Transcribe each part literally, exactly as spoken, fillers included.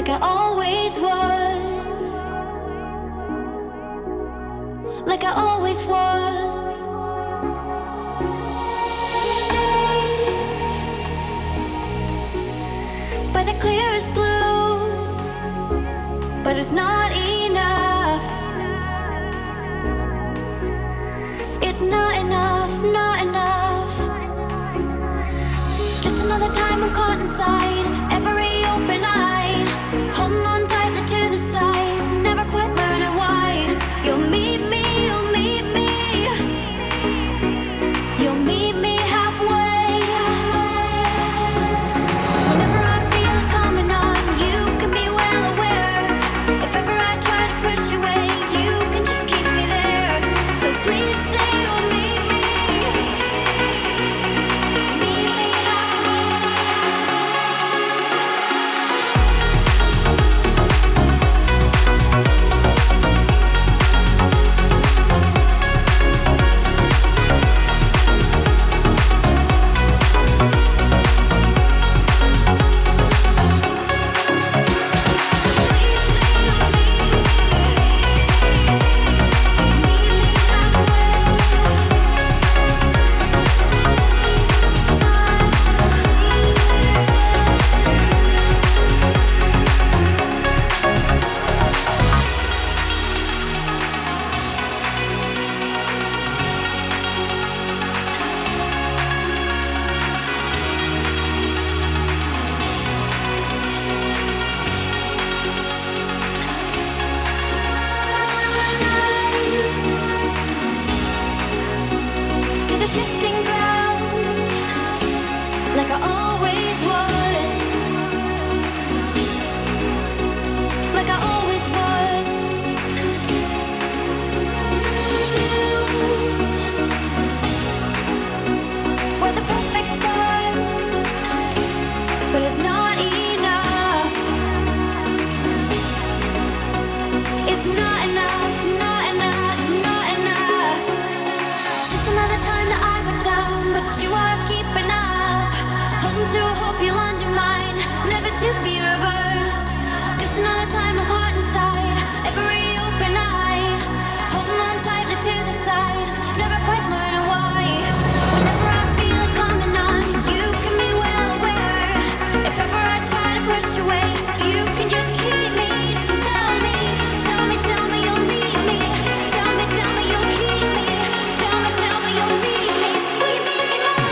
like I always was, like I always was. Shaped by the clearest blue, but it's not enough. It's not enough, not enough. Just another time I'm caught inside every open eye, holding on tightly to the sides, never quite learning why. You'll meet me, you'll meet me, you'll meet me halfway. Whenever I feel it coming on, you can be well aware. If ever I try to push away, you can just keep me there. So please say you'll meet me, meet me halfway. To the shifting ground, like I always was, like I always was. You were the perfect start, but it's not enough. It's not enough, not enough, not enough. Just another time that I went down, but you are keeping up, holding to a hope you'll undermine, never to be reversed. Just another time I'm caught inside every open eye, holding on tightly to the sides, never quite learning why. Whenever I feel it coming on, you can be well aware. If ever I try to push away, you can just keep me. Tell me, tell me, tell me you'll meet me. Tell me, tell me you'll keep me. Tell me, tell me you'll meet me. Will you meet me more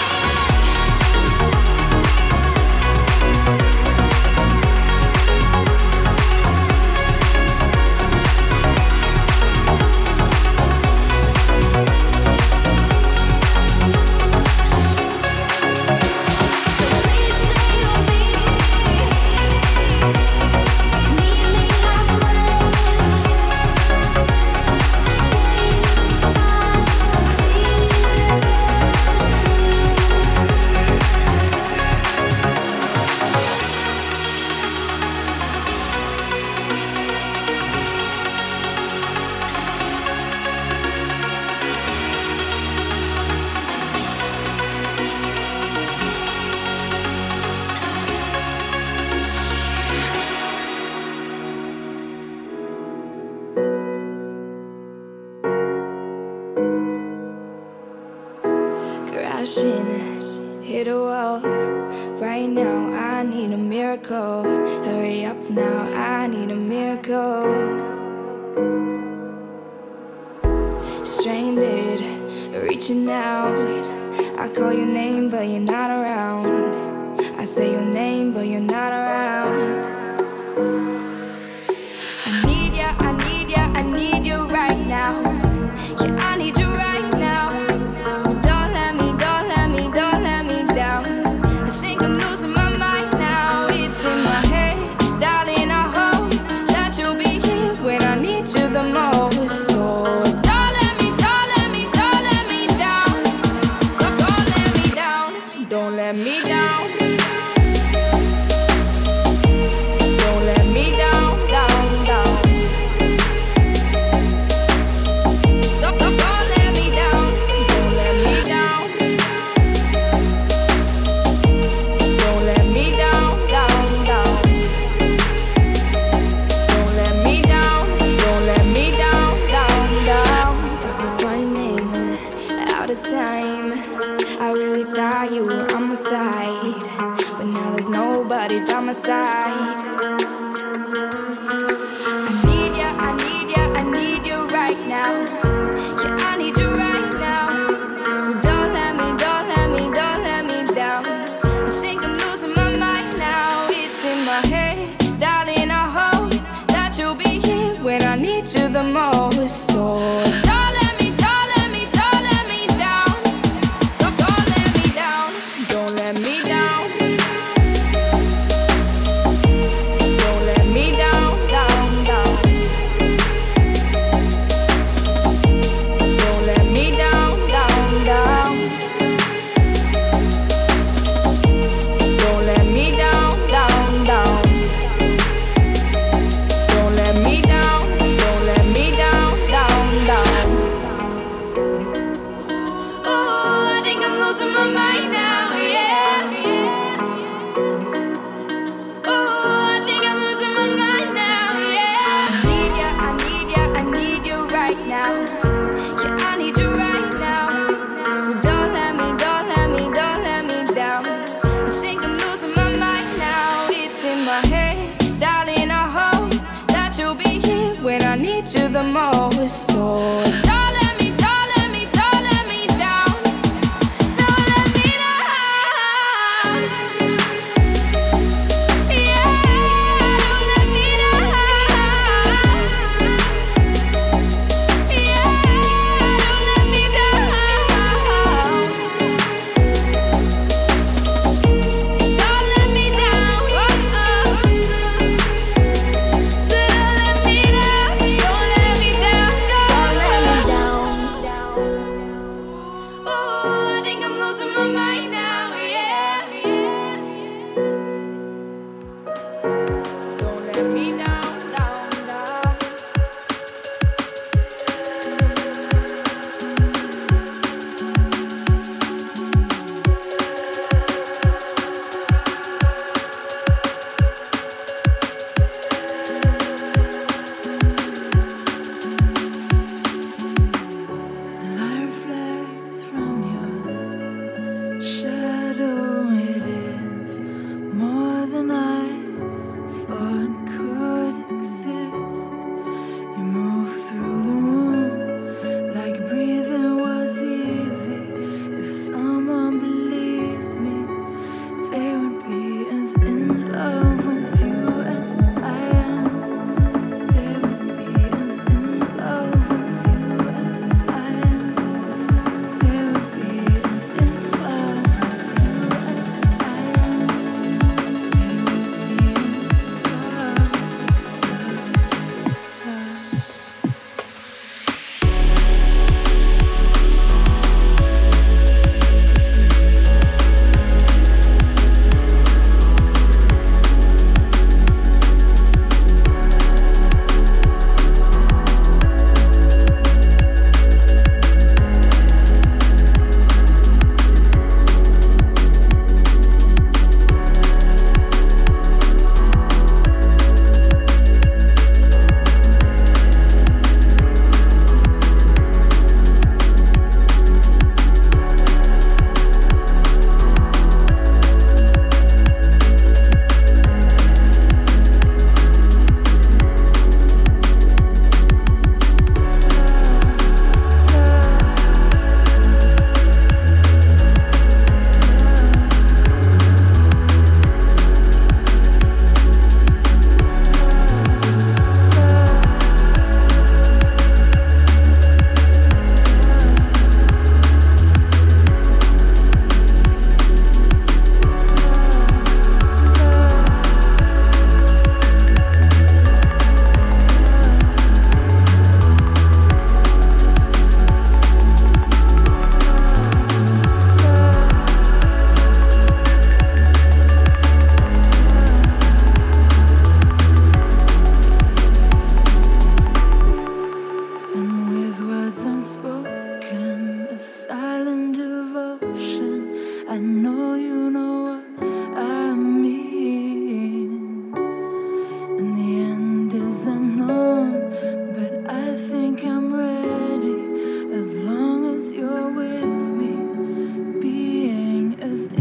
Please say you'll meet me. Meet me halfway. Crashing, hit a wall. Right now, I need a miracle. Hurry up now, I need a miracle. Stranded, reaching out. I call your name, but you're not around. I say your name, but you're not around. I need ya, I need ya, I need you right now. Yeah, I need you right now. So don't let me, don't let me, don't let me down. I think I'm losing my mind now. It's in my head, darling. I hope that you'll be here when I need you the most. So don't let me, don't let me, don't let me down. Don't, don't let me down, don't let me down. you were on my side, but now there's nobody by my side. I need ya, I need ya, I need you right now. Yeah, I need you right now. So don't let me, don't let me, don't let me down. I think I'm losing my mind now. It's in my head, darling, I hope that you'll be here when I need you the most. So don't let me, don't let me, don't let me down. Don't, don't let me down. Don't let me down. Don't let me down, down, down. Don't let me down, down, down. Don't let me down, down, down. Don't let me down, don't let me down, down, down. Ooh, I think I'm losing my mind now, yeah. Ooh, I think I'm losing my mind now, yeah. I need ya, I need ya, I need you right now. Yeah, I need you right now. So don't let me, don't let me, don't let me down. I think I'm losing my mind now. It's in my head, darling, I hope that you'll be here when I need you the most. So don't let me, don't let me, don't let me down. Don't let me down. Yeah, don't let me down. Yeah, don't let me down. Don't let me down. Oh, oh. So don't let me down. Don't let me down. Don't let me down. Ooh, I think I'm losing my mind now, yeah. Don't let me down, down, down. Light reflects from your shadow. It is more than I thought could exist. You move through the room like breathing was easy. If someone believed me, they would be as in love with you as I am. They would be as in love with you as I am. They would be as in love with you as I am. They would be in love, and with words unspoken, a silent devotion. I know you know what I mean. And the end is unknown, but I think I'm ready as long as you're with me. Being as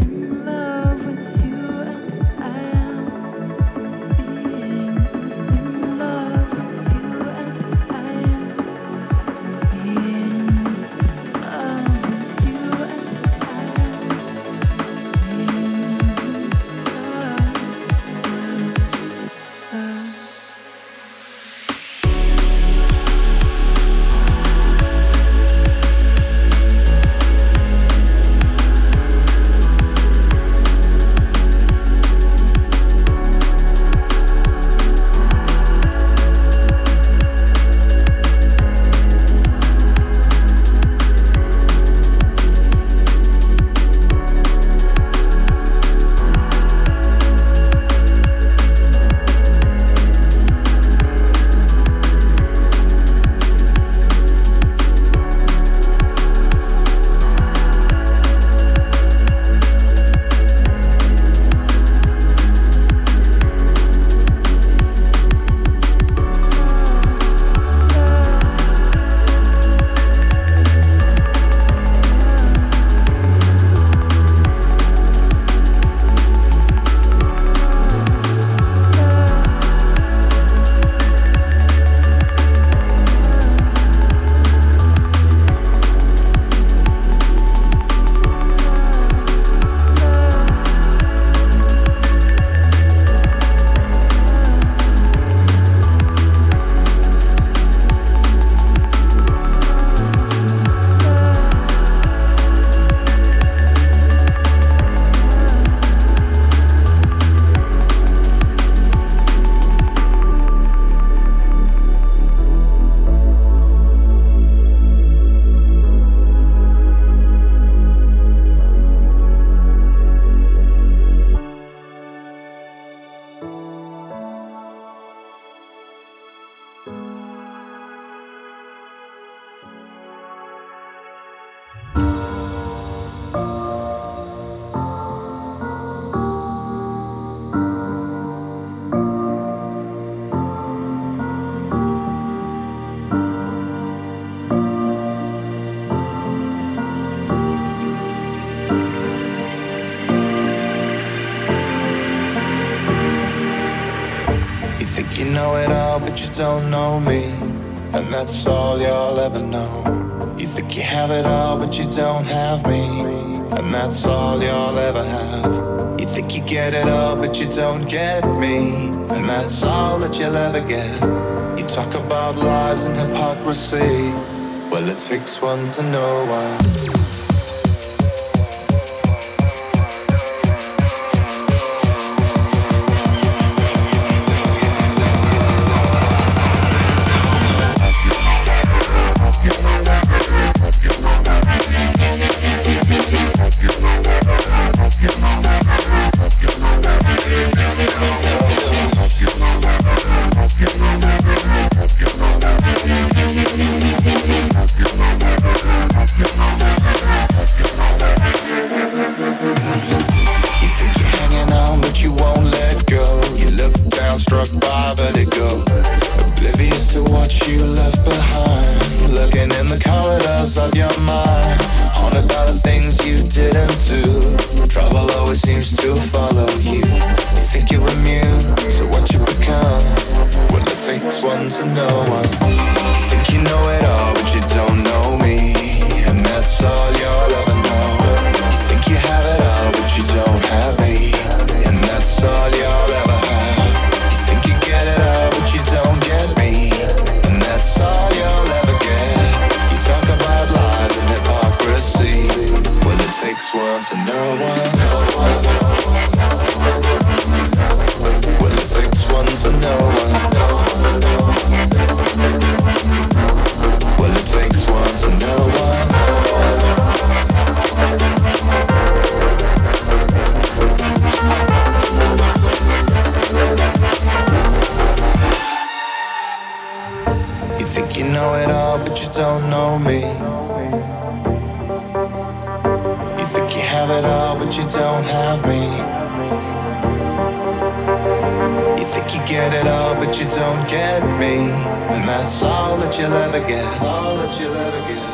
don't know me, and that's all you'll ever know. You think you have it all, but you don't have me, and that's all you'll ever have. You think you get it all, but you don't get me, and that's all that you'll ever get. You talk about lies and hypocrisy, well, it takes one to know one. Get me, and that's all that you'll ever get. All that you'll ever get.